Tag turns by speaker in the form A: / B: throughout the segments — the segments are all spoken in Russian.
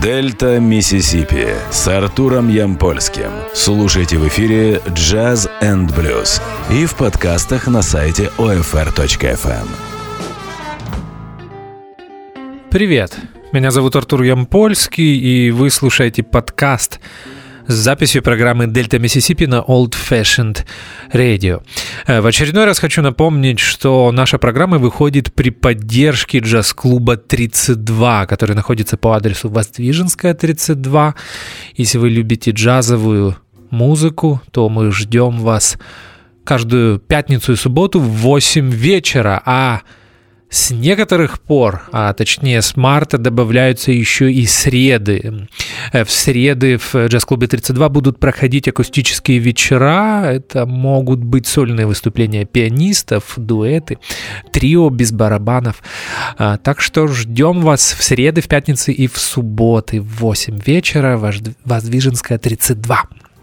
A: Дельта Миссисипи с Артуром Ямпольским. Слушайте в эфире Jazz and Blues и в подкастах на сайте OFR.FM.
B: Привет, меня зовут Артур Ямпольский, и вы слушаете подкаст с записью программы «Дельта Миссисипи» на Old Fashioned Radio. В очередной раз хочу напомнить, что наша программа выходит при поддержке джаз-клуба 32, который находится по адресу Воздвиженская, 32. Если вы любите джазовую музыку, то мы ждем вас каждую пятницу и субботу в 8 вечера, а с некоторых пор, а точнее с марта, добавляются еще и среды. В среды в джаз-клубе 32 будут проходить акустические вечера. Это могут быть сольные выступления пианистов, дуэты, трио без барабанов. Так что ждем вас в среды, в пятницы и в субботы в 8 вечера. Воздвиженская, 32.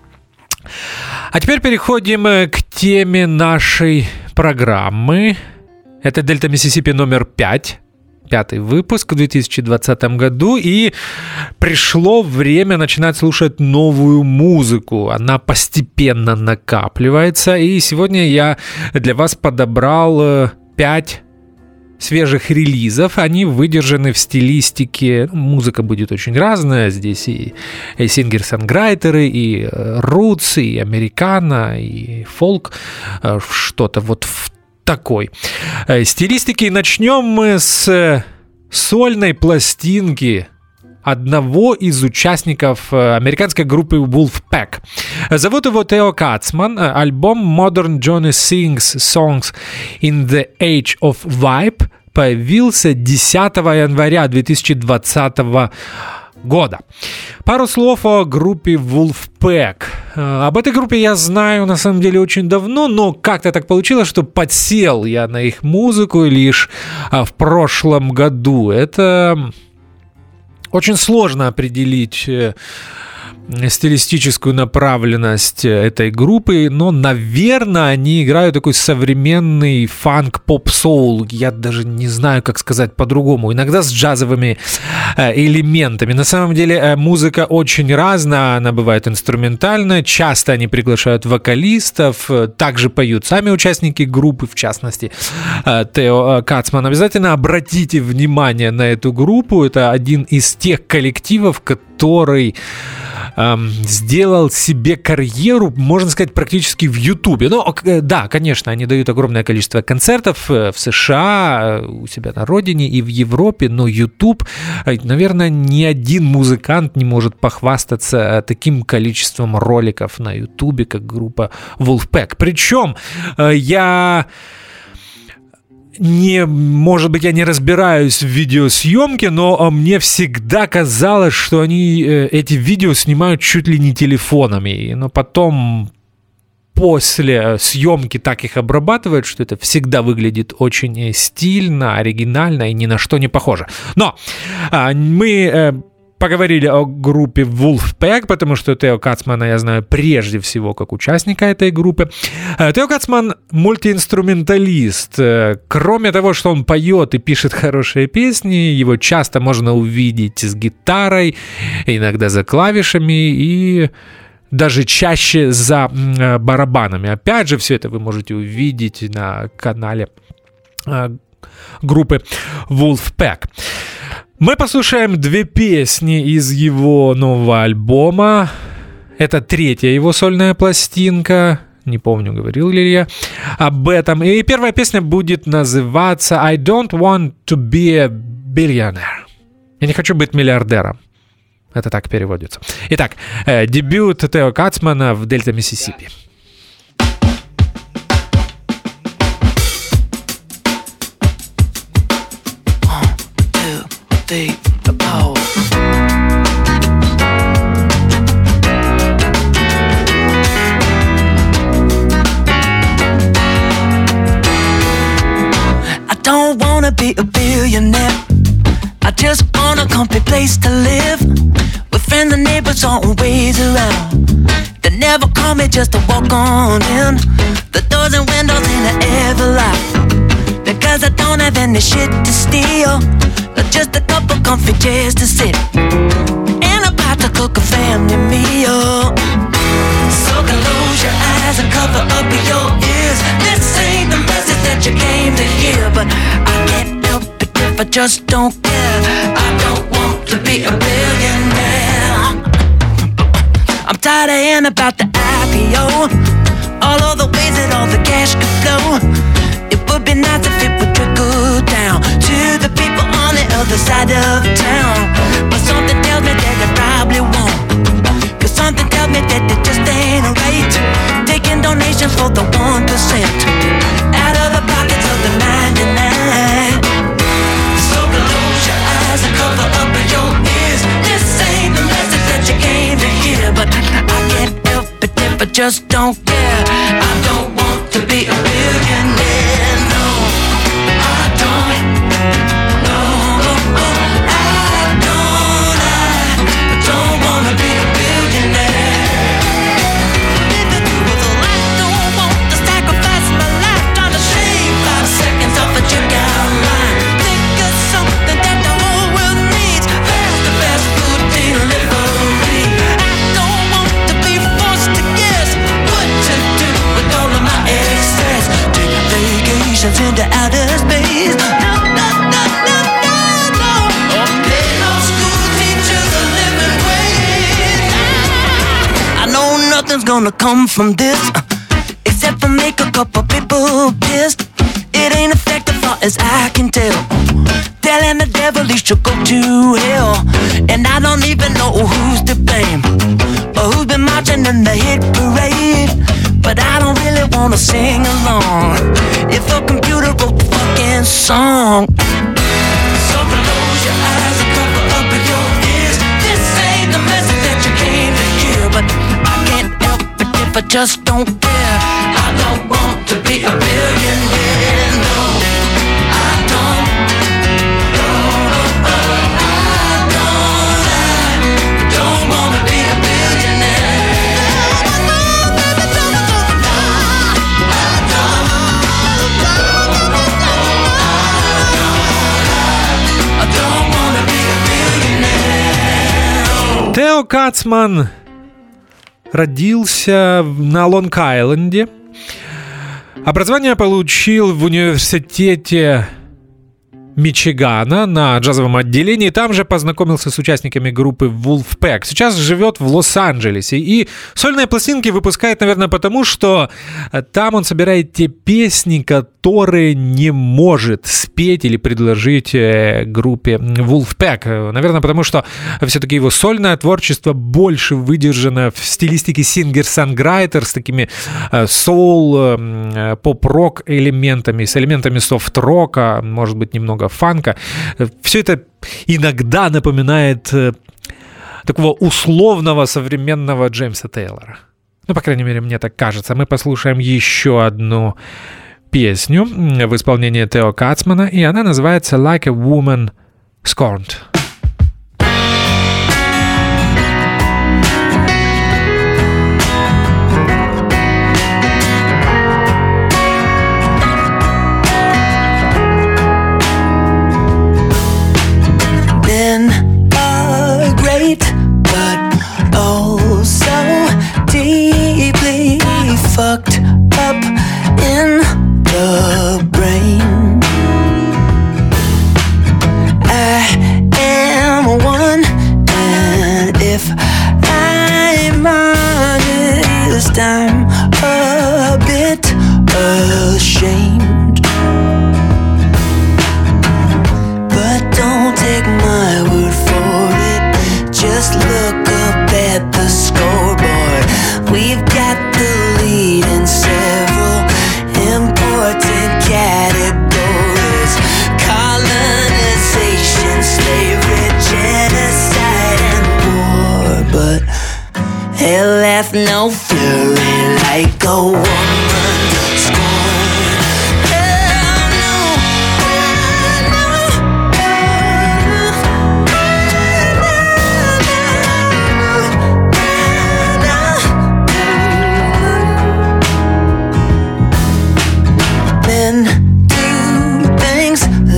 B: А теперь переходим к теме нашей программы. Это «Дельта Миссисипи» номер 5, пятый выпуск в 2020 году, и пришло время начинать слушать новую музыку. Она постепенно накапливается, и сегодня я для вас подобрал 5 свежих релизов. Они выдержаны в стилистике, музыка будет очень разная, здесь и сингер-сонграйтеры, и рутс, и американо, и фолк, что-то вот в такой стилистики. Начнем мы с сольной пластинки одного из участников американской группы Wolfpack. Зовут его Тео Кацман. Альбом Modern Johnny Sings Songs in the Age of Vibe появился 10 января 2020 года. Пару слов о группе Wolfpack. Об этой группе я знаю на самом деле очень давно, но как-то так получилось, что подсел я на их музыку лишь в прошлом году. Это очень сложно определить стилистическую направленность этой группы, но, наверное, они играют такой современный фанк-поп-соул. Я даже не знаю, как сказать по-другому. Иногда с джазовыми элементами. На самом деле музыка очень разная, она бывает инструментальная. Часто они приглашают вокалистов, также поют сами участники группы, в частности Тео Кацман. Обязательно обратите внимание на эту группу. Это один из тех коллективов, который сделал себе карьеру, можно сказать, практически в Ютубе. Но да, конечно, они дают огромное количество концертов в США, у себя на родине и в Европе, но Ютуб, наверное, ни один музыкант не может похвастаться таким количеством роликов на Ютубе, как группа Wolfpack. Причем может быть, я не разбираюсь в видеосъемке, но мне всегда казалось, что они эти видео снимают чуть ли не телефонами, но потом после съемки так их обрабатывают, что это всегда выглядит очень стильно, оригинально и ни на что не похоже. Но мы поговорили о группе Wolfpack, потому что Тео Кацмана я знаю прежде всего как участника этой группы. Тео Кацман мультиинструменталист. Кроме того, что он поет и пишет хорошие песни, его часто можно увидеть с гитарой, иногда за клавишами и даже чаще за барабанами. Опять же, все это вы можете увидеть на канале группы Wolfpack. Мы послушаем 2 песни из его нового альбома. Это 3-я его сольная пластинка. Не помню, говорил ли я об этом. И первая песня будет называться «I don't want to be a billionaire». Я не хочу быть миллиардером. Это так переводится. Итак, дебют Тео Кацмана в Дельта Миссисипи.
C: The power. I don't wanna be a billionaire. I just want a comfy place to live, with friends and neighbors always around. They never call me just to walk on in. The doors and windows ain't ever locked, because I don't have any shit to steal, just a couple comfy chairs to sit. cook a family meal. So close your eyes and cover up your ears. This ain't the message that you came to hear, but I can't help it if I just don't care. I don't want to be a billionaire. I'm tired of hearing about the IPO, all of the ways that all the cash could flow. It would be nice if it would trickle down to the people on the other side of town. But something tells me that it probably won't, 'cause something tells me that it just ain't right, taking donations for the 1% out of the pockets of the 99. So close your eyes and cover up your ears. This ain't the message that you came to hear, but I can't help it if I just don't care. I don't want to be a billionaire, no, I don't. No, I don't wanna be a billionaire. Living through the life, don't want to sacrifice my life, trying to shave 5 seconds off a checkout line. Think of something that the whole world needs, fast food delivery. I don't want to be forced to guess what to do with all of my excess. Take vacations into outer space. No, no, no, no, no, no. Or pay no school teachers a living wage. I know nothing's gonna come from this, except for make a couple people pissed. It ain't effective far as I can tell, telling the devil he should go to hell. And I don't even know who's to blame, or who's been marching in the hit parade. But I don't really wanna sing along if a computer wrote the fucking song. So close your eyes and cover up your ears. This ain't the message that you came to hear, but I can't help it if I just don't care. I don't want to be a billionaire, no, I don't. No, I don't wanna be a billionaire.
B: Тео Кацман родился на Лонг-Айленде. Образование получил в университете Мичигана на джазовом отделении. Там же познакомился с участниками группы Wolfpack. Сейчас живет в Лос-Анджелесе. И сольные пластинки выпускает, наверное, потому что там он собирает те песни, которые не может спеть или предложить группе Wolfpack. Наверное, потому что все-таки его сольное творчество больше выдержано в стилистике сингер-санграйтер с такими соул, поп-рок элементами, с элементами софт-рока, может быть, немного фанка. Все это иногда напоминает такого условного современного Джеймса Тейлора. Ну, по крайней мере, мне так кажется. Мы послушаем еще одну песню в исполнении Тео Кацмана, и она называется «Like a Woman Scorned».
C: Fucked up in the brain. I am one, and if I'm honest, I'm a bit ashamed. But don't take my word for it, just look up at the scoreboard. We've got the lead in several important categories: colonization, slavery, genocide, and war. But hell hath no fury like a woman scorned. Hell no,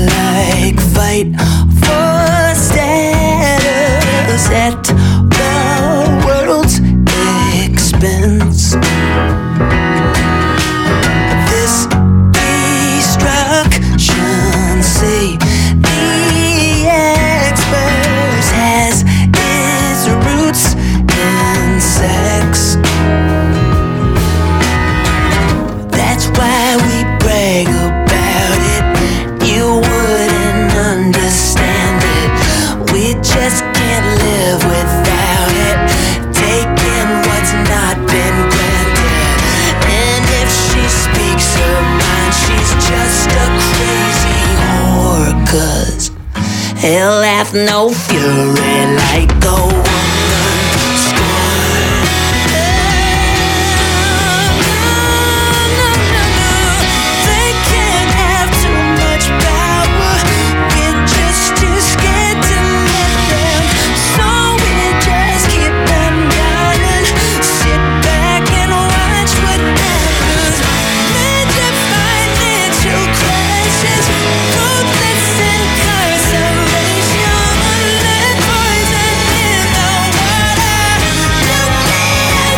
C: fight for status at the just can't live without it. Taking what's not been granted. And if she speaks her mind, she's just a crazy whore. 'Cause hell hath no fury like a woman scorned. They can't have too much power. We're just too scared to let them. So we just keep them down and sit back and watch what happens. Major financial crashes, ruthless incarceration, lead poison in the water, nuclear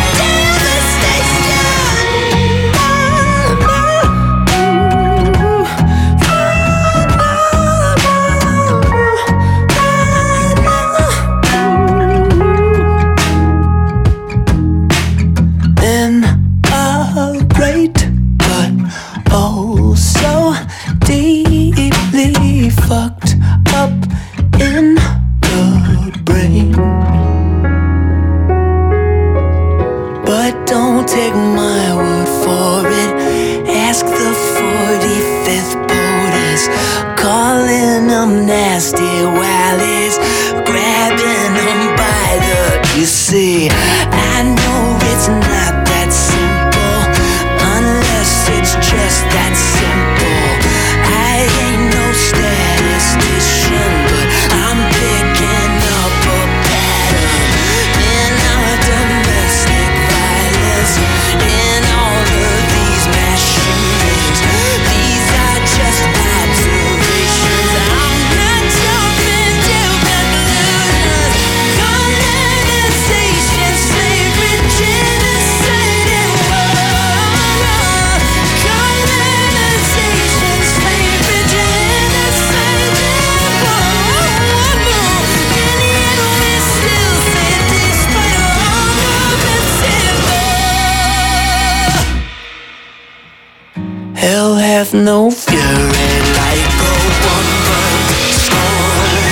C: devastation. In a great but oh so deeply fucked up in the brain. But don't take my word for it. Ask the 45th POTUS, calling them nasty while he's grabbing them by the. You see, I know it's not that simple, unless it's just that simple. I ain't no statistician, but I'm picking up a pattern in our domestic violence, in all of these mass shootings. These are just observations. I'm not jumping to conclusions. Colonization, slavery, genocide, and war. Colonization, slavery, genocide, and war. And yet we still say, despite all prophecy, hell hath no fury like a woman scorned.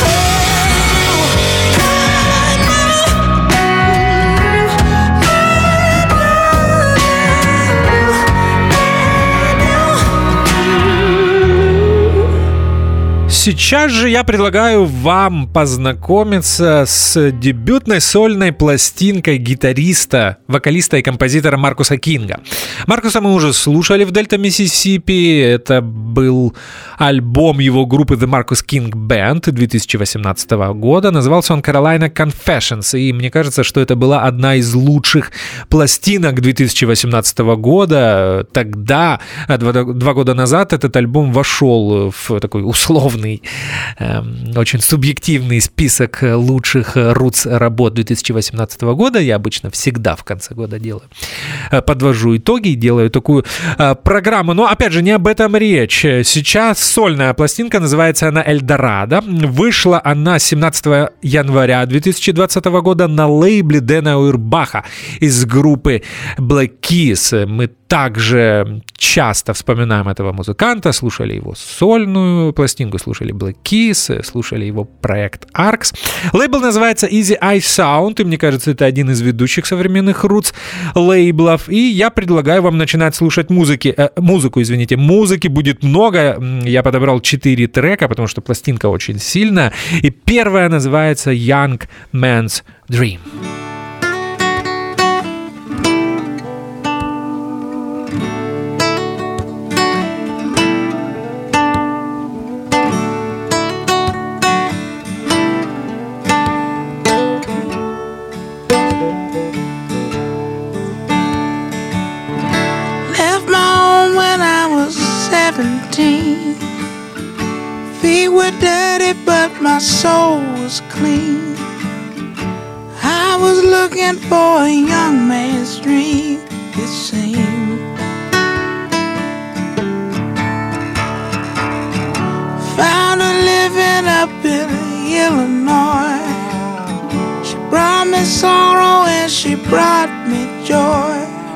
B: Сейчас же я предлагаю вам познакомиться с дебютной сольной пластинкой гитариста, вокалиста и композитора Маркуса Кинга. Маркуса мы уже слушали в Дельта Миссисипи. Это был альбом его группы The Marcus King Band 2018 года. Назывался он Carolina Confessions. И мне кажется, что это была одна из лучших пластинок 2018 года. Тогда, 2 года назад, этот альбом вошел в такой условный, очень субъективный список лучших рутс-работ 2018 года. Я обычно всегда в конце года делаю. Подвожу итоги и делаю такую программу. Но, опять же, не об этом речь. Сейчас сольная пластинка, называется она «Эльдорадо». Вышла она 17 января 2020 года на лейбле Дэна Уирбаха из группы Black Keys. Мы также часто вспоминаем этого музыканта, слушали его сольную пластинку, слушали Black Keys, слушали его проект Arcs. Лейбл называется Easy Eye Sound, и мне кажется, это один из ведущих современных рутс лейблов. И я предлагаю вам начинать слушать музыки будет много. Я подобрал 4 трека, потому что пластинка очень сильная. И первая называется Young Man's Dream.
C: Feet were dirty, but my soul was clean. I was looking for a young man's dream, it seemed. Found her living up in Illinois. She brought me sorrow and she brought me joy.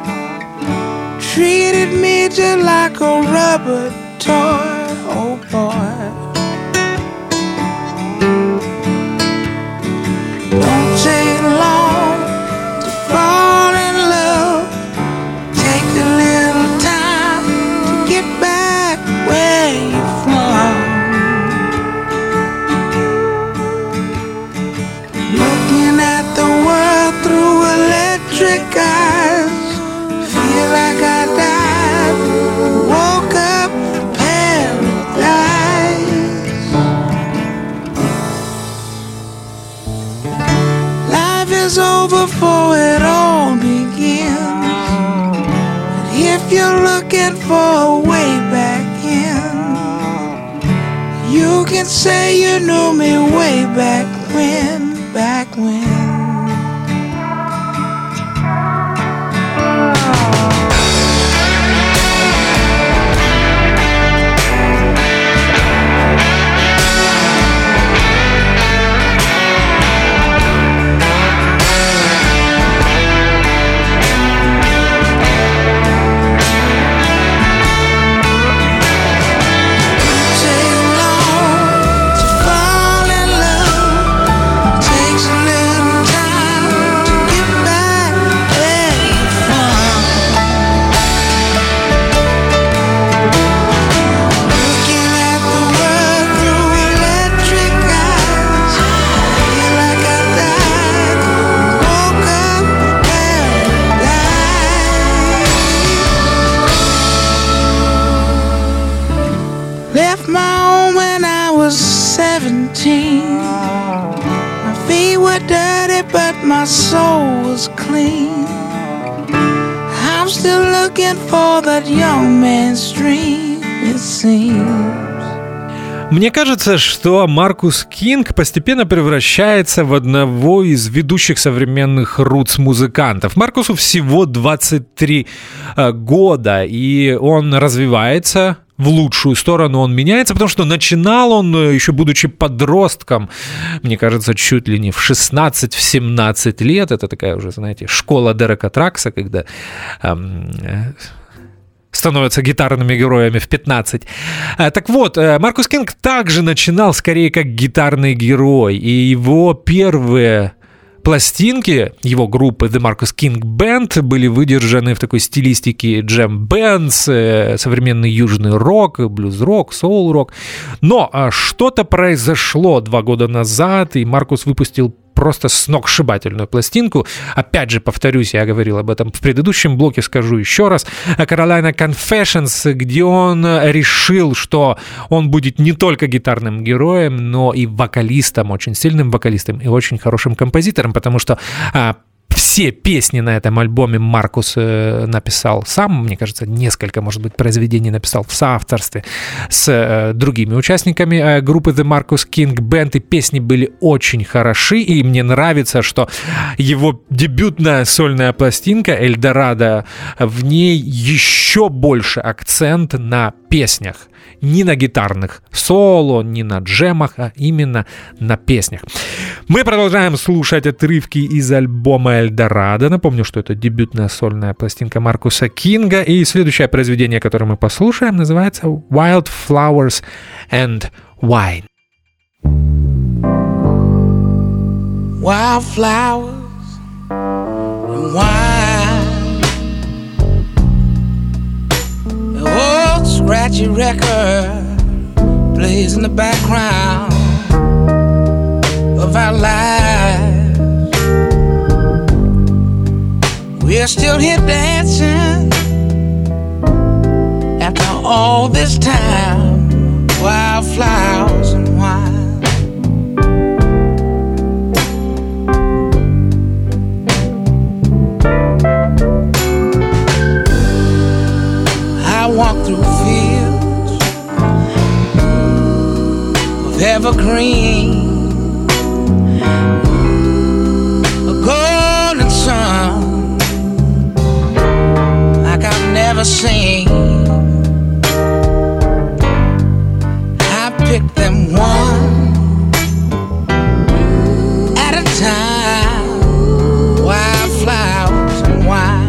C: Treated me just like a rubber toy, oh boy. is over for it all begins. But if you're looking for a way back in, you can say you knew me way back when, back when. Left my home when I was 17. My feet were dirty, but my soul was clean. I'm still looking for that young man's dream, it seems.
B: Мне кажется, что Маркус Кинг постепенно превращается в одного из ведущих современных рутс-музыкантов. Маркусу всего 23 года, и он развивается в лучшую сторону, он меняется, потому что начинал он, еще будучи подростком, мне кажется, чуть ли не в 16-17 лет. Это такая уже, знаете, школа Дерека Тракса, когда становятся гитарными героями в 15. Так вот, Маркус Кинг также начинал скорее как гитарный герой, и его первые пластинки его группы The Marcus King Band были выдержаны в такой стилистике джем-бэндс, современный южный рок, блюз-рок, соул-рок. Но что-то произошло 2 года назад, и Маркус выпустил просто сногсшибательную пластинку. Опять же, повторюсь, я говорил об этом в предыдущем блоке, скажу еще раз. Carolina Confessions, где он решил, что он будет не только гитарным героем, но и вокалистом, очень сильным вокалистом и очень хорошим композитором, потому что все песни на этом альбоме Маркус написал сам. Мне кажется, несколько, может быть, произведений написал в соавторстве с другими участниками группы The Marcus King Band, и песни были очень хороши, и мне нравится, что его дебютная сольная пластинка «Эльдорадо», в ней еще больше акцент на песнях. Не на гитарных соло, не на джемах, а именно на песнях. Мы продолжаем слушать отрывки из альбома «Эльдорадо». Напомню, что это дебютная сольная пластинка Маркуса Кинга. И следующее произведение, которое мы послушаем, называется «Wild Flowers and Wine».
C: Wild flowers and wine, the old scratchy record plays in the background of our lives. We're still here dancing after all this time. Wild flowers and wine. I walk through fields of evergreen, a golden sun like I've never seen. I pick them one at a time, wildflowers and wine.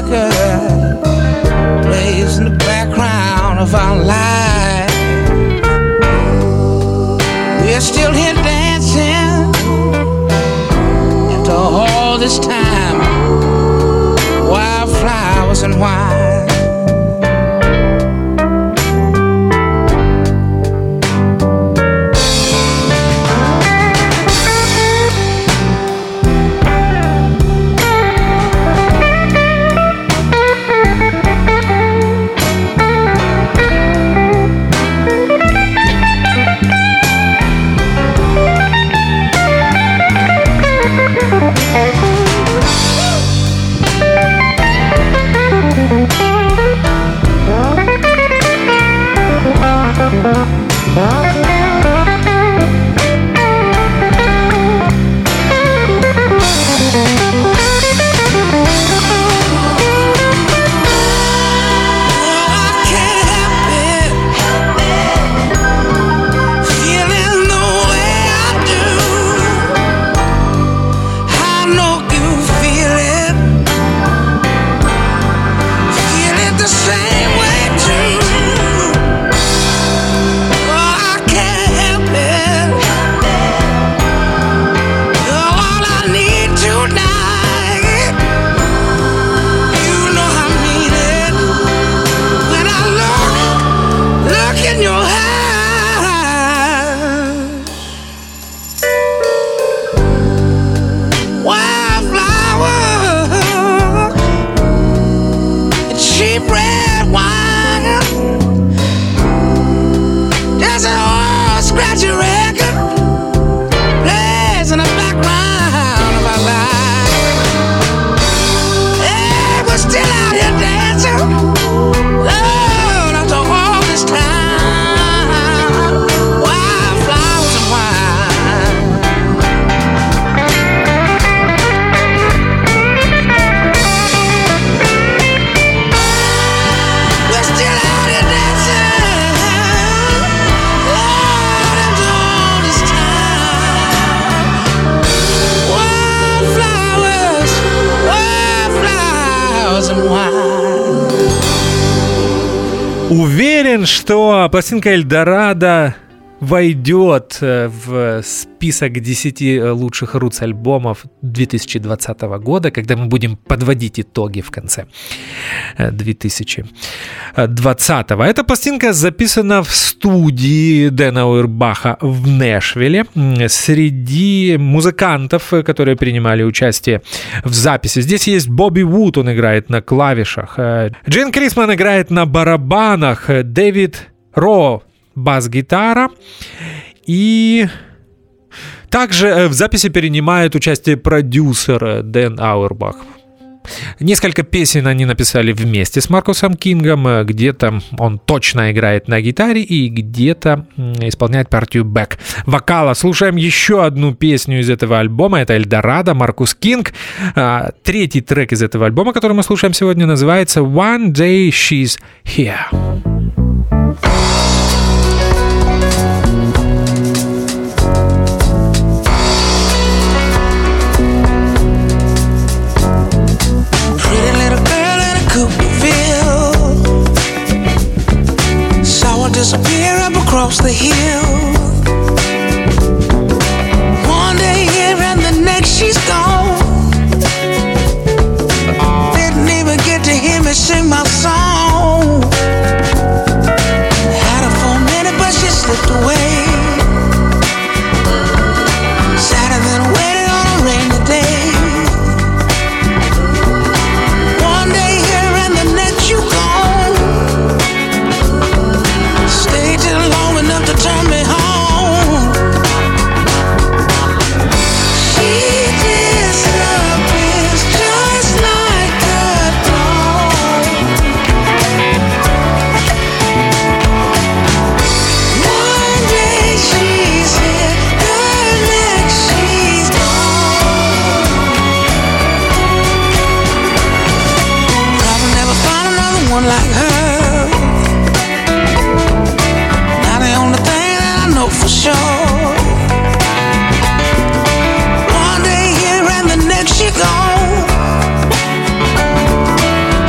C: record plays in the background of our life. We're still here dancing after all this time. Wildflowers and wine.
B: Уверен, что пластинка Эльдорадо войдет в список 10 лучших рутс-альбомов 2020 года, когда мы будем подводить итоги в конце 2020. Эта пластинка записана в студии Дэна Ауэрбаха в Нэшвилле. Среди музыкантов, которые принимали участие в записи, здесь есть Бобби Вуд, он играет на клавишах, Джин Крисман играет на барабанах, Дэвид Ро бас-гитара, и также в записи принимает участие продюсер Дэн Ауэрбах. Несколько песен они написали вместе с Маркусом Кингом, где-то он точно играет на гитаре и где-то исполняет партию бэк-вокала. Слушаем еще одну песню из этого альбома, это «Эльдорадо», Маркус Кинг. Третий трек из этого альбома, который мы слушаем сегодня, называется «One Day She's Here».
C: Disappear up across the hill. One day here and the next she's gone. Didn't even get to hear me sing my song. Had her for a minute but she slipped away. Sadder than waiting on a rainy day. One day here and the next you gone. Stayed till long enough to turn me home. She disappears just like the dawn. One day she's here, the next she's gone. Probably never find another one like her. For sure. One day here and the next she gone.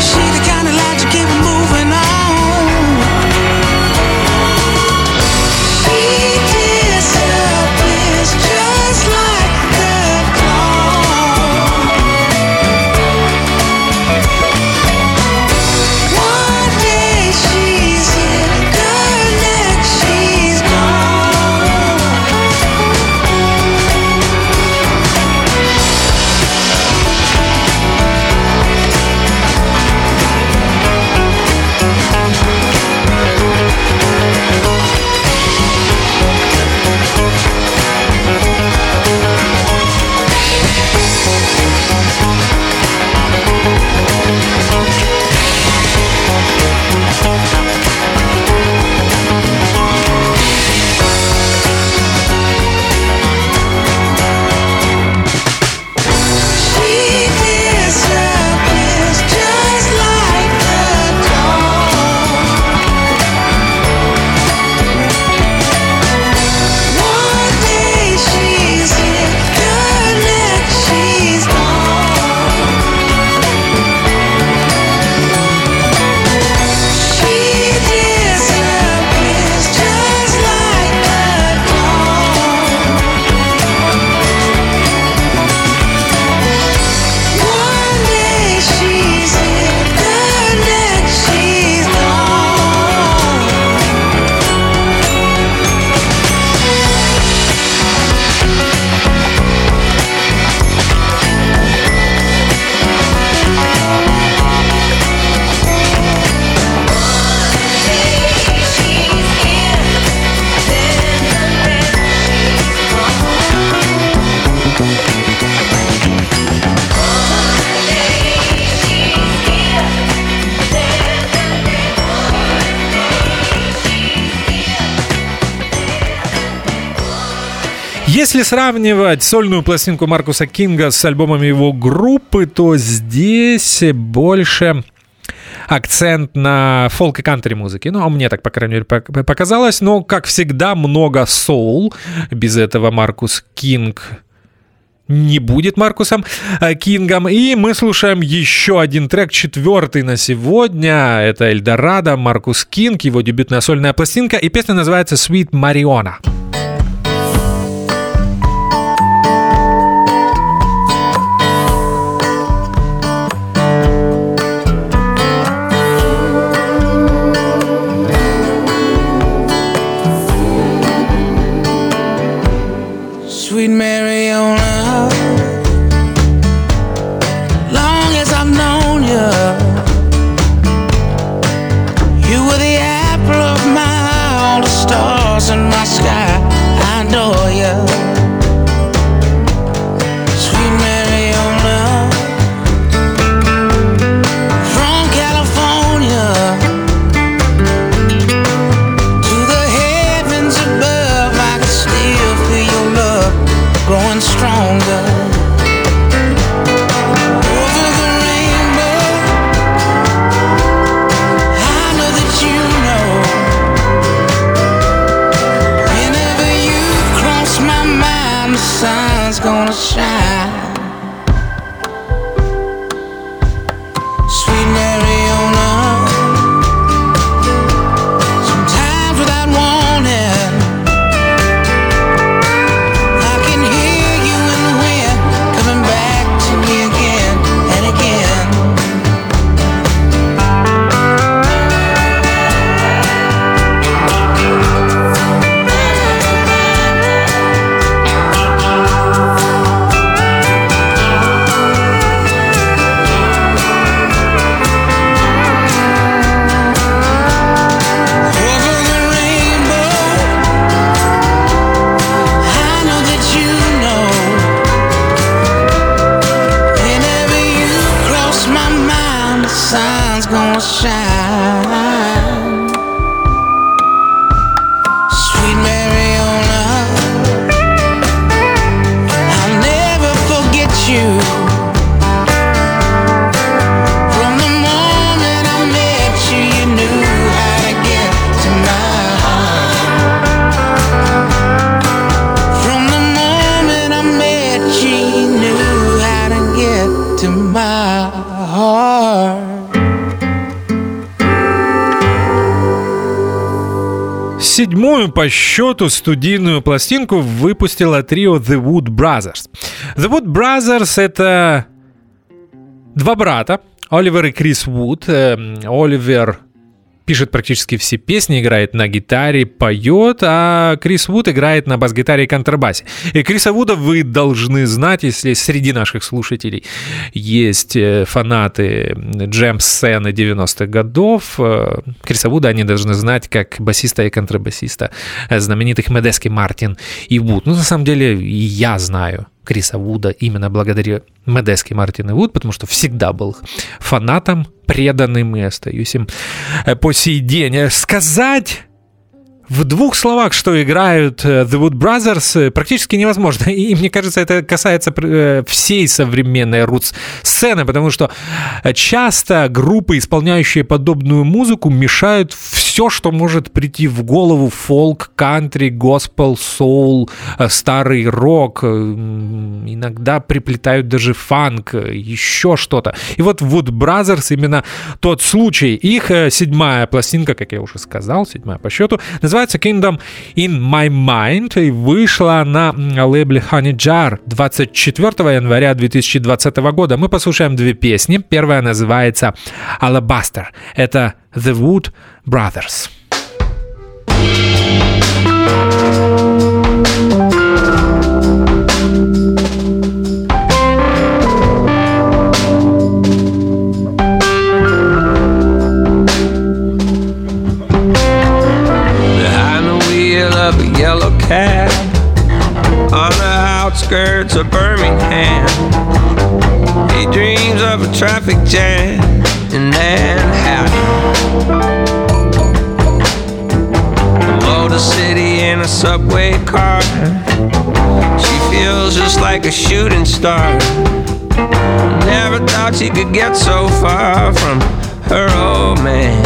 B: Если сравнивать сольную пластинку Маркуса Кинга с альбомами его группы, то здесь больше акцент на фолк и кантри музыке. Ну, а мне так, по крайней мере, показалось. Но, как всегда, много соул. Без этого Маркус Кинг не будет Маркусом Кингом. И мы слушаем еще один трек, 4-й на сегодня. Это «Эльдорадо», Маркус Кинг, его дебютная сольная пластинка. И песня называется «Sweet Marijuana».
C: Sweet Marijuana, long as I've known you, you were the apple of my eye, all the stars in my sky, I adore you. Sweet Marijuana, from California to the heavens above, I can still feel your love growing stronger. Over the rainbow, I know that you know. Whenever you cross my mind, the sun's gonna shine. Sweet Marijuana, sometimes without warning, I can hear you in the wind coming back to me again and again. Over the rainbow, I know that you know. Whenever you cross my mind, the sun's gonna shine. Sweet Marijuana, I'll never forget you. From the moment I met you, you knew how to get to my heart. From the moment I met you, you knew how to get to my heart.
B: Седьмую по счету студийную пластинку выпустила трио The Wood Brothers. The Wood Brothers — это два брата, Оливер и Крис Вуд. Оливер пишет практически все песни, играет на гитаре, поет, а Крис Вуд играет на бас-гитаре и контрабасе. И Криса Вуда вы должны знать, если среди наших слушателей есть фанаты джем-сцены 90-х годов. Криса Вуда они должны знать как басиста и контрабасиста знаменитых Медески, Мартин и Вуд. Ну, на самом деле, и я знаю Криса Вуда именно благодаря Медески, Мартин и Вуд, потому что всегда был фанатом, преданным и остаюсь им по сей день. Сказать в двух словах, что играют The Wood Brothers, практически невозможно. И мне кажется, это касается всей современной рутс-сцены, потому что часто группы, исполняющие подобную музыку, мешают все, что может прийти в голову: фолк, кантри, госпел, соул, старый рок, иногда приплетают даже фанк, еще что-то. И вот Wood Brothers именно тот случай. Их седьмая пластинка, как я уже сказал, седьмая по счету, называется Kingdom in My Mind, и вышла на лейбле Honey Jar 24 января 2020 года. Мы послушаем две песни. Первая называется Alabaster. Это The Wood Brothers.
D: Of a yellow cab on the outskirts of Birmingham. He dreams of a traffic jam in Manhattan. Motor City in a subway car. She feels just like a shooting star. Never thought she could get so far from her old man.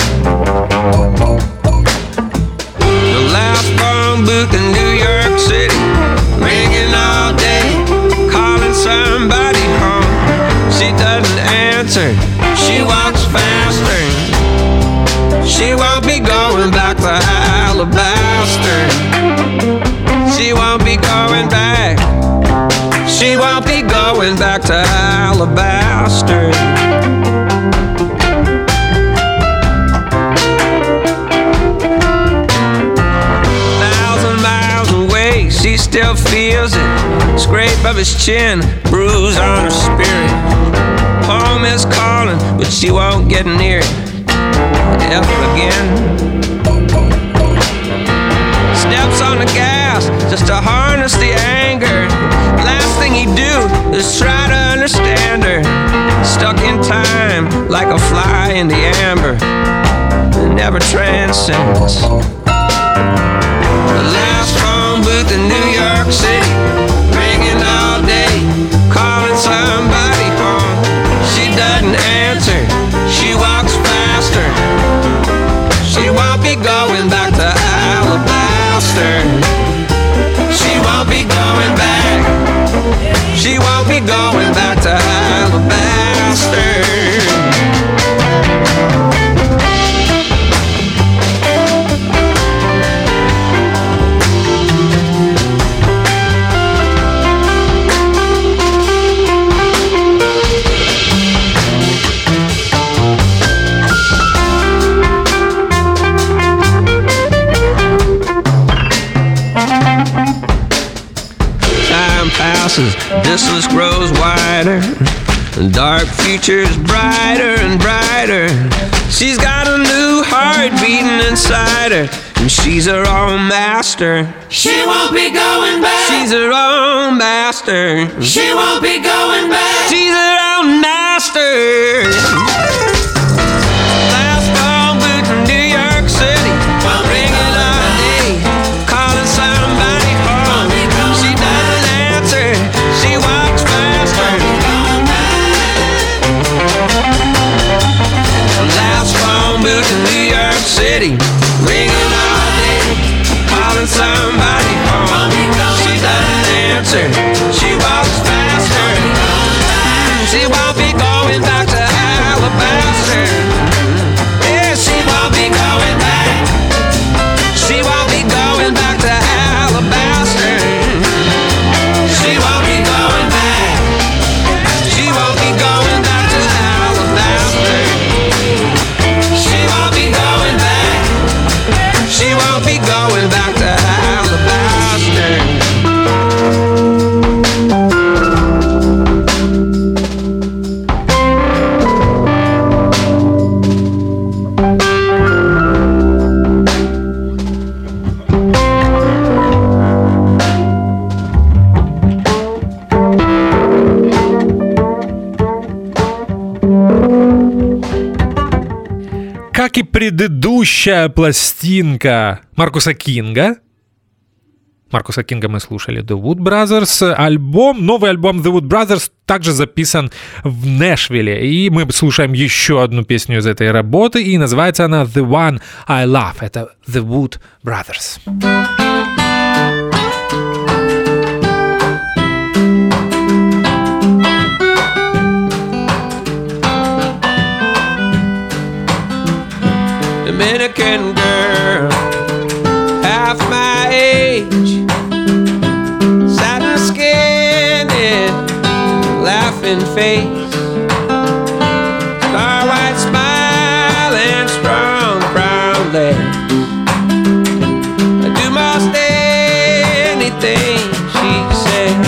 D: The last phone booth in New York City, ringing all day, calling somebody home. She doesn't answer, she walks faster. She won't be going back to Alabaster. She won't be going back. She won't be going back to Alabaster. 1,000 miles away, she still feels it. Scrape of his chin, bruise on her spirit. Home is calling, but she won't get near it ever again. Steps on the gas just to harness the anger. Last thing he'd do is try to understand her. Stuck in time like a fly in the amber, never transcends. The last phone booth in New York City, ringing all day, calling somebody home. She doesn't answer, she walks faster. She won't be going back to Alabaster. She won't be going back. She won't be going back to Alabaster. Distance grows wider, and dark future's brighter and brighter. She's got a new heart beating inside her, and she's her own master.
C: She won't be going back.
D: She's her own master.
C: She won't be going back.
D: She's her own master. Last phone booth in New York City, ringing all day, calling somebody home. She doesn't answer, she walks faster. Last phone booth in New York City, ringing all day, calling somebody home. She doesn't answer, she walks faster. She won't be going back to Alabaster. Yeah, she won't be going back. She won't be going back to Alabaster. She won't be going back. She won't be going back to Alabaster. She won't be going back. She won't be going back to Alabaster.
B: Как и предыдущая пластинка Маркуса Кинга. Маркуса Кинга мы слушали, The Wood Brothers. Новый альбом The Wood Brothers также записан в Нэшвилле. И мы слушаем еще одну песню из этой работы, и называется она The One I Love. Это The Wood Brothers.
D: Dominican girl, half my age, satin skin and laughing face, star white smile and strong brown legs. I do most anything she says.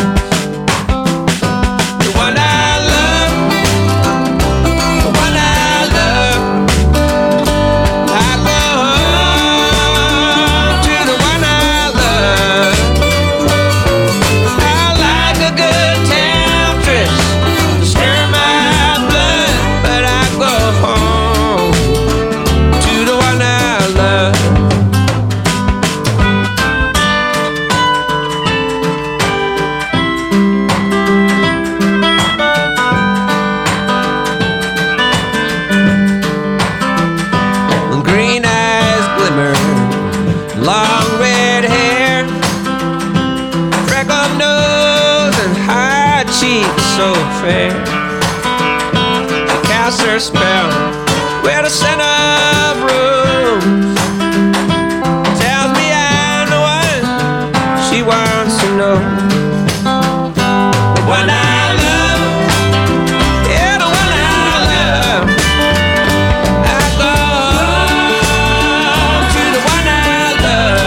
D: The one I love, the one I love. Good so fair. She casts her spell where the center of rooms. Tells me I'm the one she wants to know. The one I love, yeah, the one I love. I go home to the one I love.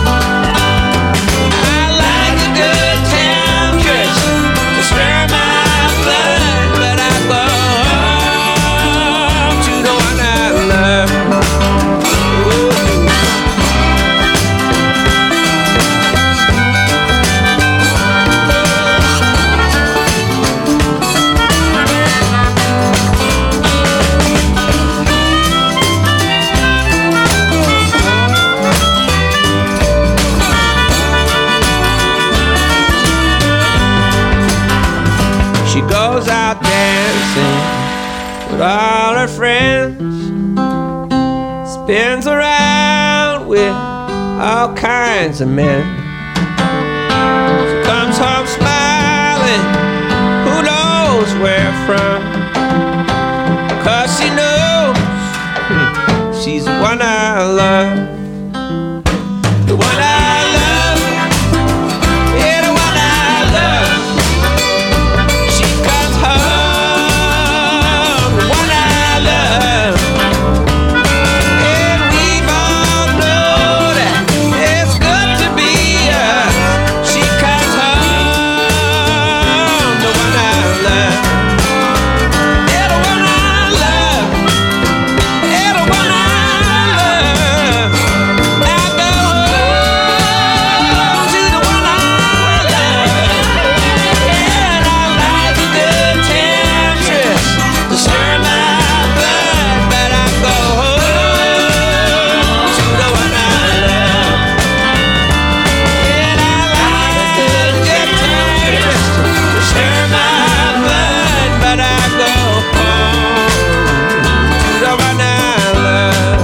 D: I like a good temptress to stir my blood, but I go home to the one I love. She goes out dancing with all her friends, spins around with all kinds of men. She comes home smiling, who knows where from, 'cause she knows she's the one I love. The one I love, yeah, the one I love. She comes home, the one I love. And we all know that it's good to be us. She comes home, the one I love. Yeah, the one I love. Yeah, the one I love. I go home to the one I love. And I like a good temptress to stir my blood, but I go home to the one I love. And I like a good temptress to stir my blood, but I go home to the one I love.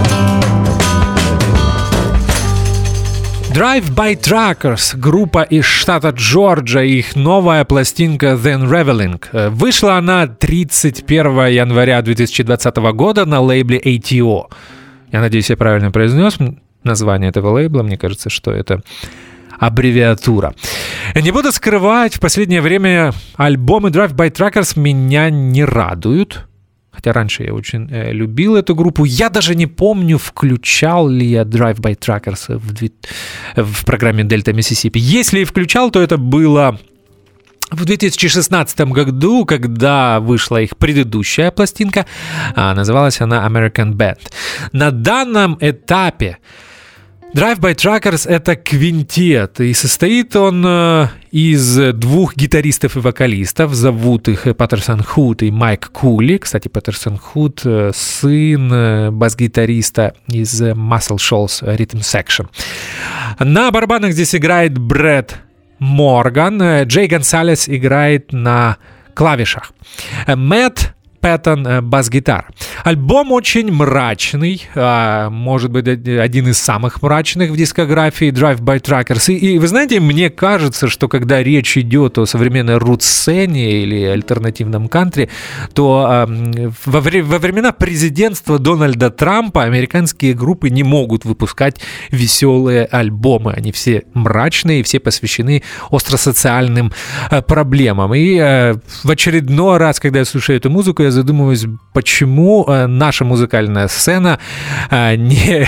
B: Drive-by Truckers, группа из штата Джорджия, их новая пластинка The Unraveling. Вышла она 31 января 2020 года на лейбле ATO. Я надеюсь, я правильно произнес название этого лейбла. Мне кажется, что это аббревиатура. Не буду скрывать, в последнее время альбомы Drive-by Truckers меня не радуют. Хотя раньше я очень любил эту группу. Я даже не помню, включал ли я Drive-by Truckers в программе Delta Mississippi. Если и включал, то это было в 2016 году, когда вышла их предыдущая пластинка. Называлась она American Band. На данном этапе Drive-by Truckers — это квинтет, и состоит он из двух гитаристов и вокалистов. Зовут их Паттерсон Худ и Майк Кули. Кстати, Паттерсон Худ — сын бас-гитариста из Muscle Shoals Rhythm Section. На барабанах здесь играет Брэд Морган. Джей Гонсалес играет на клавишах. Мэтт Пэттон бас-гитара. Альбом очень мрачный, может быть, один из самых мрачных в дискографии Drive-by Truckers. И вы знаете, мне кажется, что когда речь идет о современной рут-сцене или альтернативном кантри, то во времена президентства Дональда Трампа американские группы не могут выпускать веселые альбомы. Они все мрачные, все посвящены остросоциальным проблемам. И в очередной раз, когда я слушаю эту музыку, я задумываюсь, почему наша музыкальная сцена так не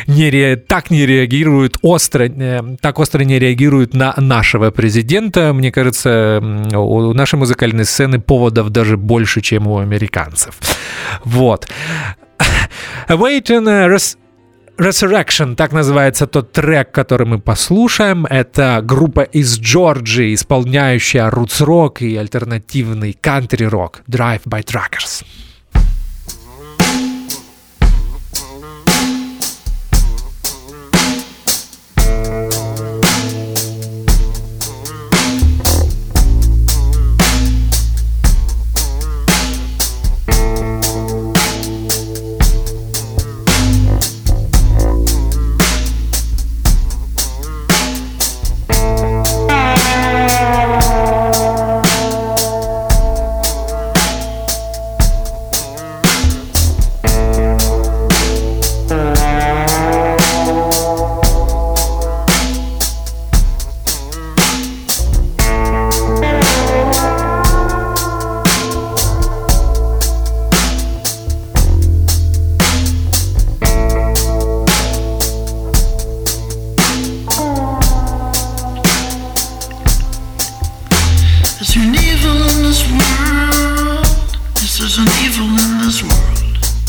B: реагирует так остро не реагирует на нашего президента. Мне кажется, у нашей музыкальной сцены поводов даже больше, чем у американцев. Вот. Awaiting Resurrection, так называется тот трек, который мы послушаем. Это группа из Джорджии, исполняющая рутс-рок и альтернативный кантри-рок. Drive-by Truckers.
C: this world. Yes, there's an evil in this world.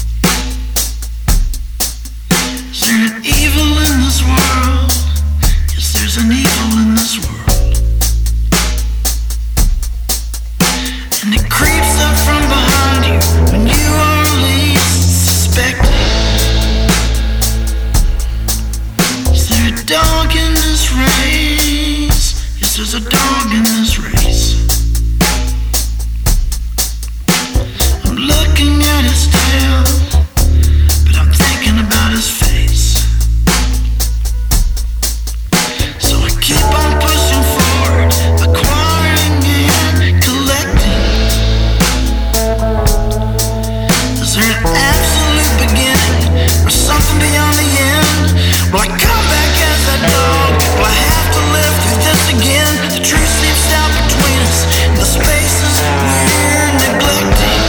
C: Is there an evil in this world? Yes, there's an evil in this world. And it creeps up from behind you when you are least suspected. Is there a dog in this race? Yes, there's a dog in this race. I'm looking at his tail, but I'm thinking about his face. So I keep on pushing forward, acquiring and collecting. Is there an absolute beginning or something beyond the end? Will I come back as that dog? Will I have to live through this again? The truth seeps out between us in the spaces we're neglecting.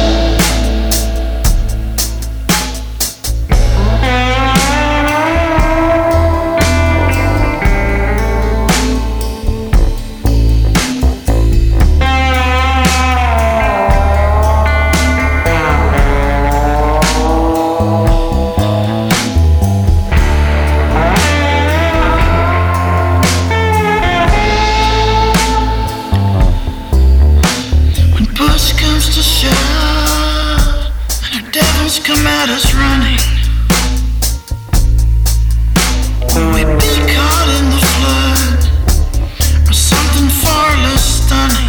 C: When push comes to shove and our devils come at us running, will we be caught in the flood or something far less stunning?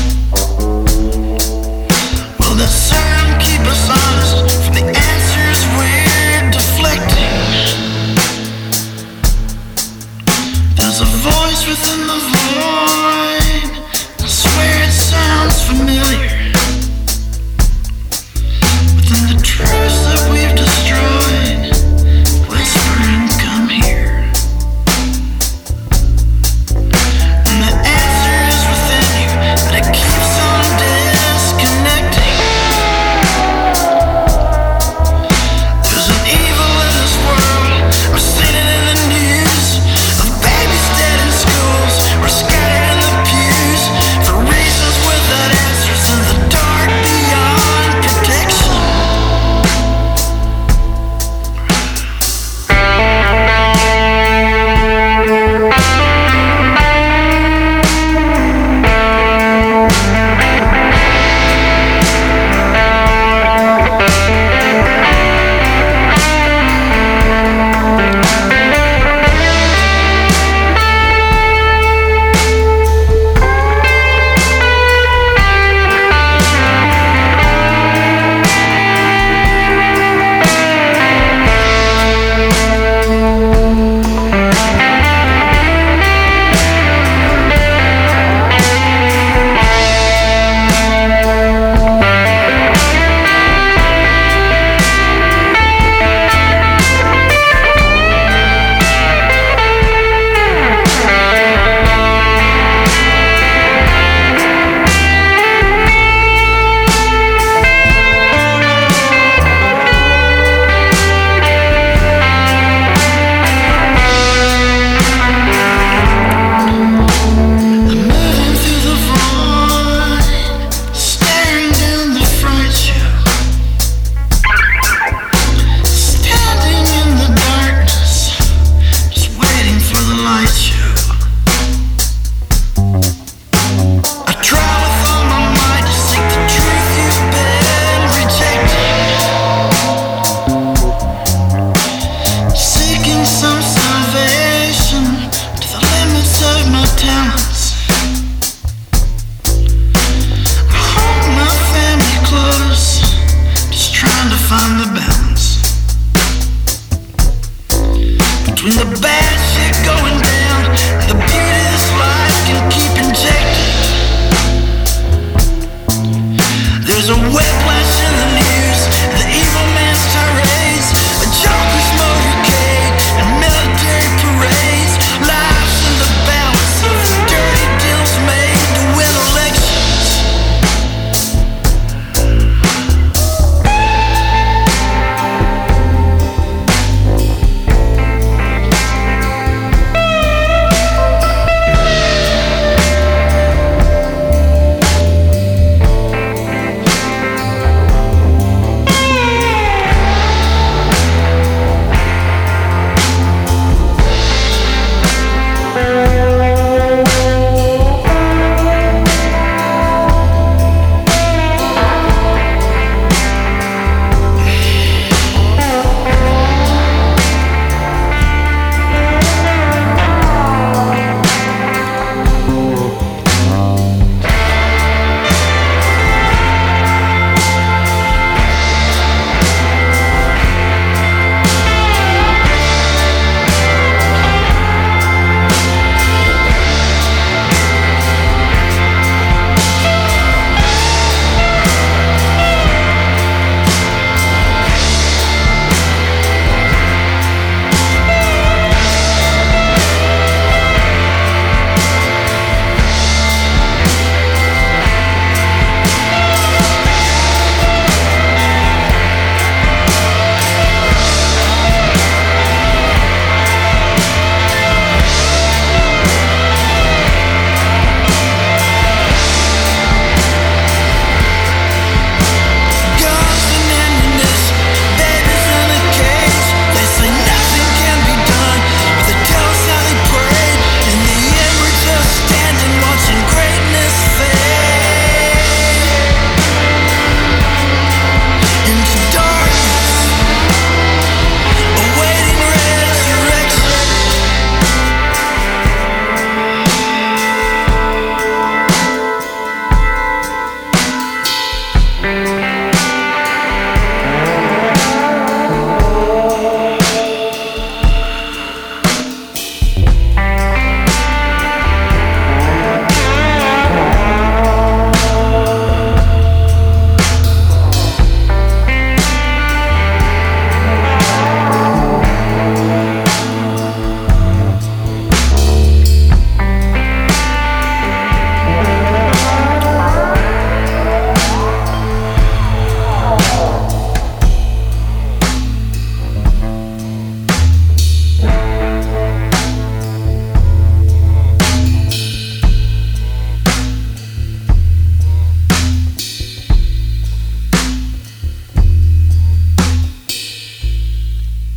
C: Will the sun keep us honest from the answers we're deflecting? There's a voice within the void, I swear it sounds familiar. Within the truths that we've destroyed, whispering, come here. And the answer is within you, but it keeps on disconnecting. There's an evil in this world, I've seen it in the news, of babies dead in schools or scattered in the pews for reasons without answers in the dark beyond protection. I'm moving through the void, staring down the fright show, standing in the darkness, just waiting for the light show. I try with all my might to seek the truth you've been rejecting, seeking some salvation to the limits of my talents. I hold my family close, just trying to find the balance between the bad shit going down and the beauty this life can keep injecting. There's a whiplash in the news, the evil man's tirades, a joker's motorcade and military parades, lives in the balance of dirty deals made to win elections.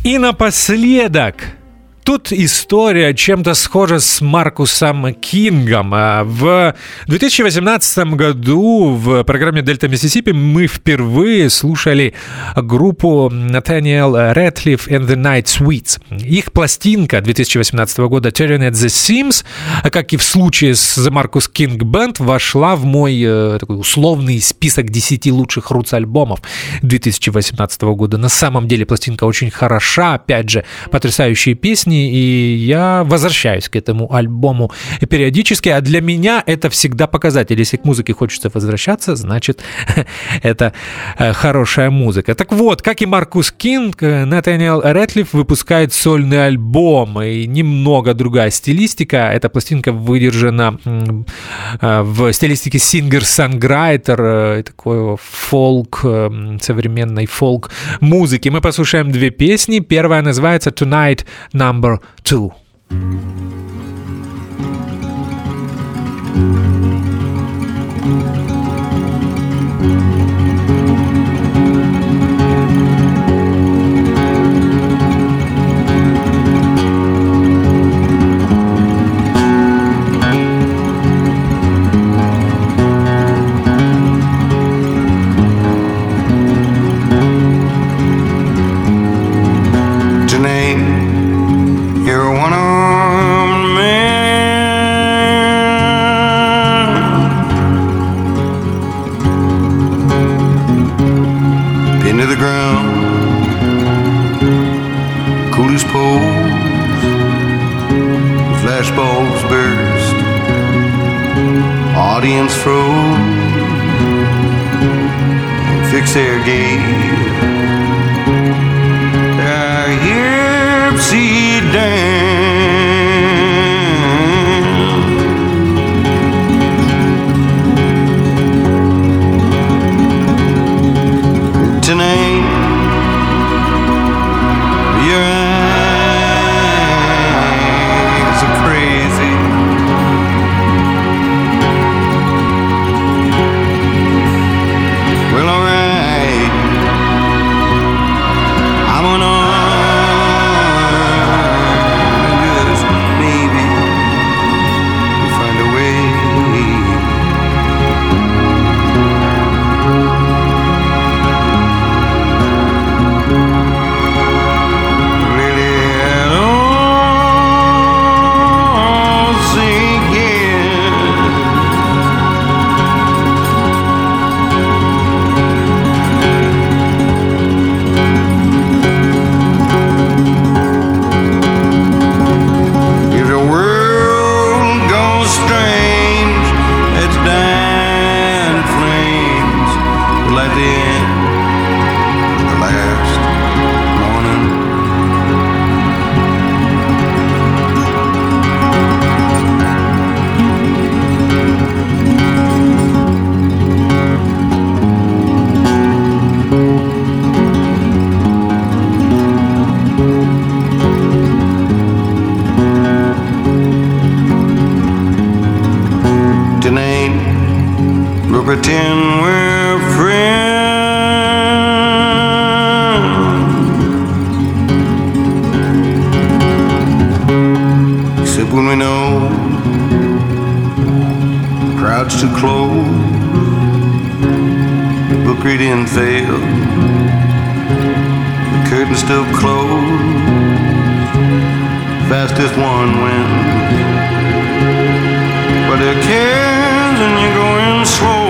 B: И напоследок, тут история чем-то схожа с Маркусом Кингом. В 2018 году в программе «Дельта Миссисипи» мы впервые слушали группу Nathaniel Rateliff and the Night Sweets. Их пластинка 2018 года «Turning at the Seams», как и в случае с The Marcus King Band, вошла в мой такой условный список 10 лучших рутс-альбомов 2018 года. На самом деле пластинка очень хороша, опять же, потрясающие песни, и я возвращаюсь к этому альбому периодически, а для меня это всегда показатель. Если к музыке хочется возвращаться, значит, это хорошая музыка. Так вот, как и Маркус Кинг, Nathaniel Rateliff выпускает сольный альбом, и немного другая стилистика. Эта пластинка выдержана в стилистике сингер-санграйтер, такой фолк, современной фолк-музыки. Мы послушаем две песни. Первая называется «Tonight Number 2».
E: Audience froze, fix their gaze. Their hips see dance. Tonight, your eyes are crazy. Well, alright, I'm on and just maybe we'll find a way. Really, I don't sink in. If the world goes strange, it's dying flames. Like the end, the last morning. Tonight, we'll pretend we're friends. Except when we know the crowd's too close, the book reading failed, the curtain's still closed, fastest one wins. But there are cares and you're going slow.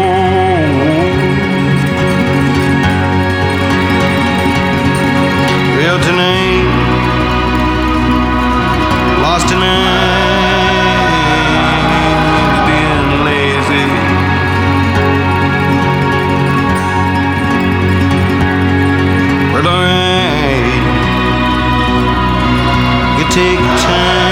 E: Well, tonight, lost tonight, being lazy. Well, alright, you take time.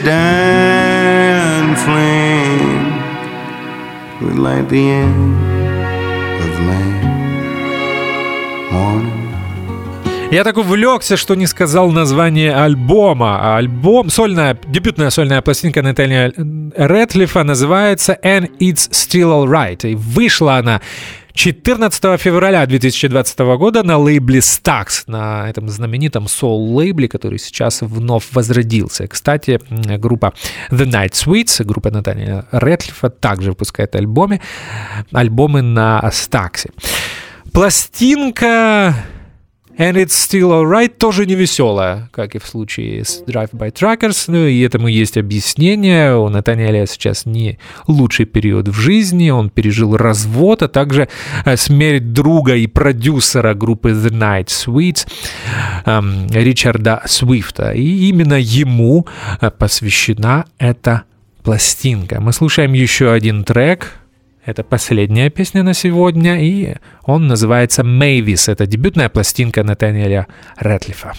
E: dying flame would light the end of man morning.
B: Я так увлекся, что не сказал название альбома. Альбом, дебютная сольная пластинка Натаниэля Рэдклиффа называется «And It's Still Alright». И вышла она 14 февраля 2020 года на лейбле Stax, на этом знаменитом соул-лейбле, который сейчас вновь возродился. Кстати, группа The Night Sweets, группа Натаниэля Рэдклиффа, также выпускает альбомы на Stax. Пластинка And It's Still Alright тоже не веселая, как и в случае с Drive-By Truckers, и этому есть объяснение. У Натаниэля сейчас не лучший период в жизни, он пережил развод, а также смерть друга и продюсера группы The Night Sweets Ричарда Свифта, и именно ему посвящена эта пластинка. Мы слушаем еще один трек. Это последняя песня на сегодня, и он называется «Mavis». Это дебютная пластинка Натаниэля Рэдклиффа.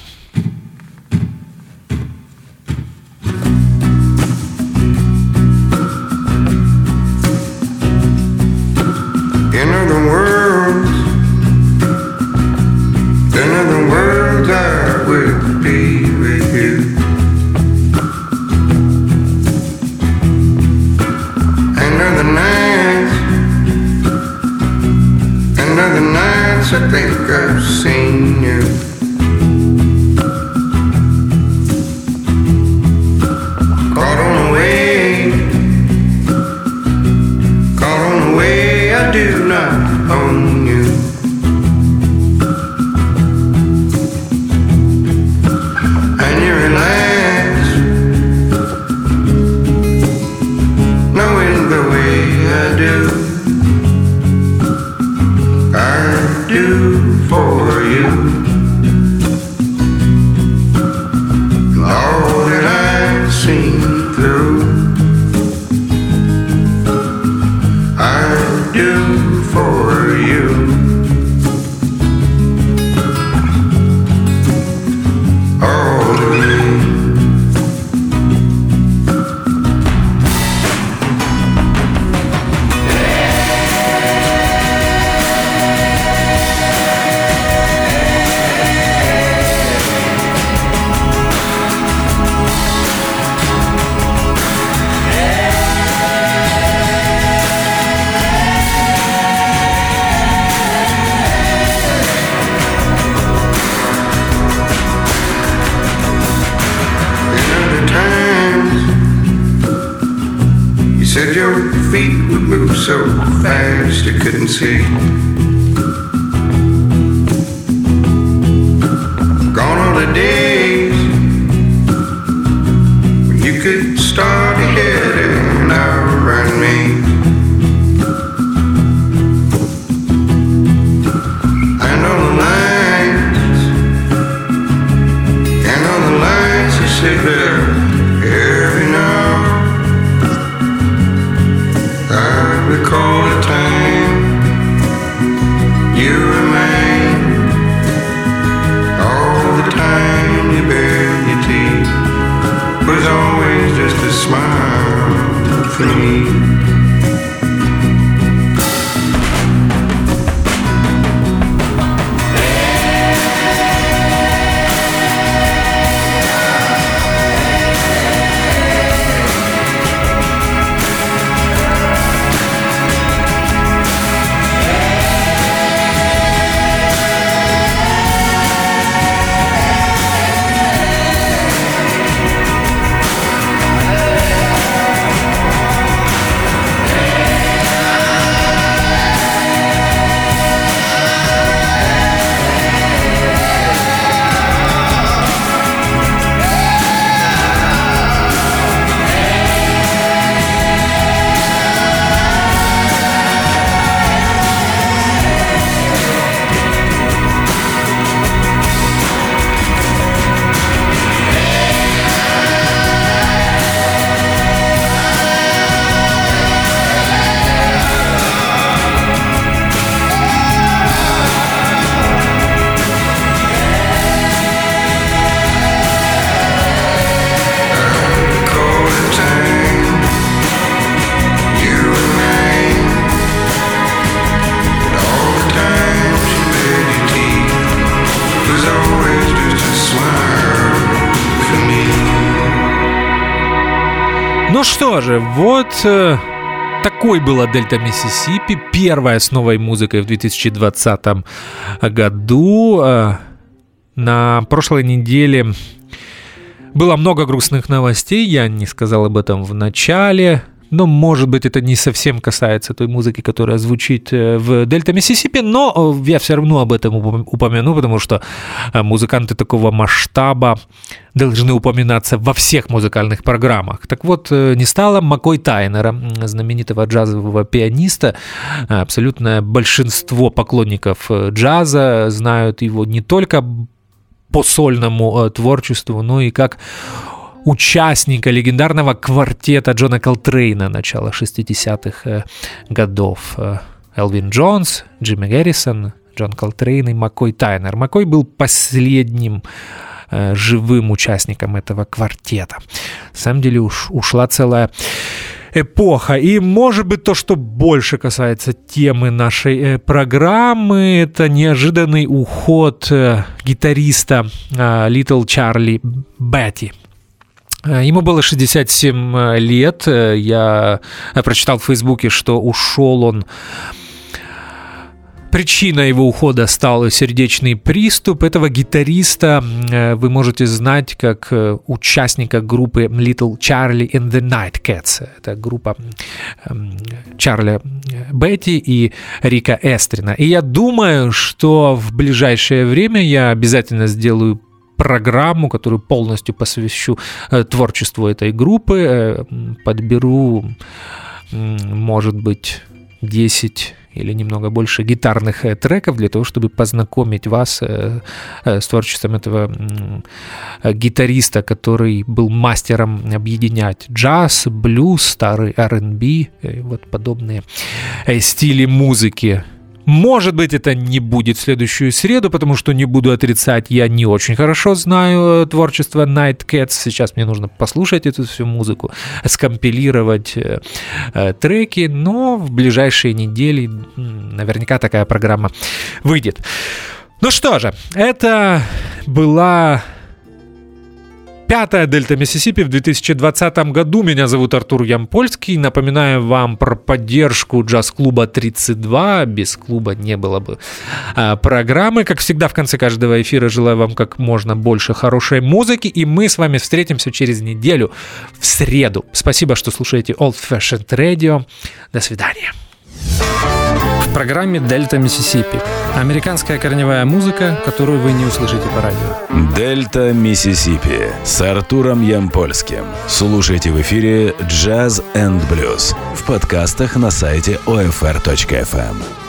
E: In other words, I will be with you. Another nights I think I've seen you. Caught on the way, I do not own you. And you relax, knowing the way I do. I do for you all that I've seen through. I do for you all of me. Said your feet would move so fast you couldn't see. Gone are the days when you could start ahead and outrun me. And on the lines you sit there every now. I recall a time you remain. All the time you bared your teeth was always just a smile for me.
B: что же, вот такой была Дельта Миссисипи, первая с новой музыкой в 2020 году. На прошлой неделе было много грустных новостей, я не сказал об этом в начале. Но, может быть, это не совсем касается той музыки, которая звучит в Дельта Миссисипи, но я все равно об этом упомяну, потому что музыканты такого масштаба должны упоминаться во всех музыкальных программах. Так вот, не стало Маккой Тайнера, знаменитого джазового пианиста. Абсолютное большинство поклонников джаза знают его не только по сольному творчеству, но и как участника легендарного квартета Джона Колтрейна начала 60-х годов. Элвин Джонс, Джимми Гаррисон, Джон Колтрейн и Маккой Тайнер. Маккой был последним живым участником этого квартета. На самом деле ушла целая эпоха. И, может быть, то, что больше касается темы нашей программы, это неожиданный уход гитариста Little Charlie Бетти. Ему было 67 лет. Я прочитал в Фейсбуке, что ушел он. Причиной его ухода стал сердечный приступ. Этого гитариста вы можете знать как участника группы Little Charlie and the Nightcats. Это группа Чарли Бетти и Рика Эстрина. И я думаю, что в ближайшее время я обязательно сделаю программу, которую полностью посвящу творчеству этой группы. Подберу, может быть, 10 или немного больше гитарных треков для того, чтобы познакомить вас с творчеством этого гитариста, который был мастером объединять джаз, блюз, старый R&B и вот подобные стили музыки. Может быть, это не будет в следующую среду, потому что, не буду отрицать, я не очень хорошо знаю творчество Nightcats. Сейчас мне нужно послушать эту всю музыку, скомпилировать треки, но в ближайшие недели наверняка такая программа выйдет. Ну что же, это была пятая Дельта Миссисипи в 2020 году. Меня зовут Артур Ямпольский. Напоминаю вам про поддержку джаз-клуба 32. Без клуба не было бы программы. Как всегда, в конце каждого эфира желаю вам как можно больше хорошей музыки. И мы с вами встретимся через неделю в среду. Спасибо, что слушаете Old Fashioned Radio. До свидания. В программе «Дельта Миссисипи» американская корневая музыка, которую вы не услышите по радио.
A: «Дельта Миссисипи» с Артуром Ямпольским. Слушайте в эфире «Джаз энд блюз» в подкастах на сайте OFR.FM.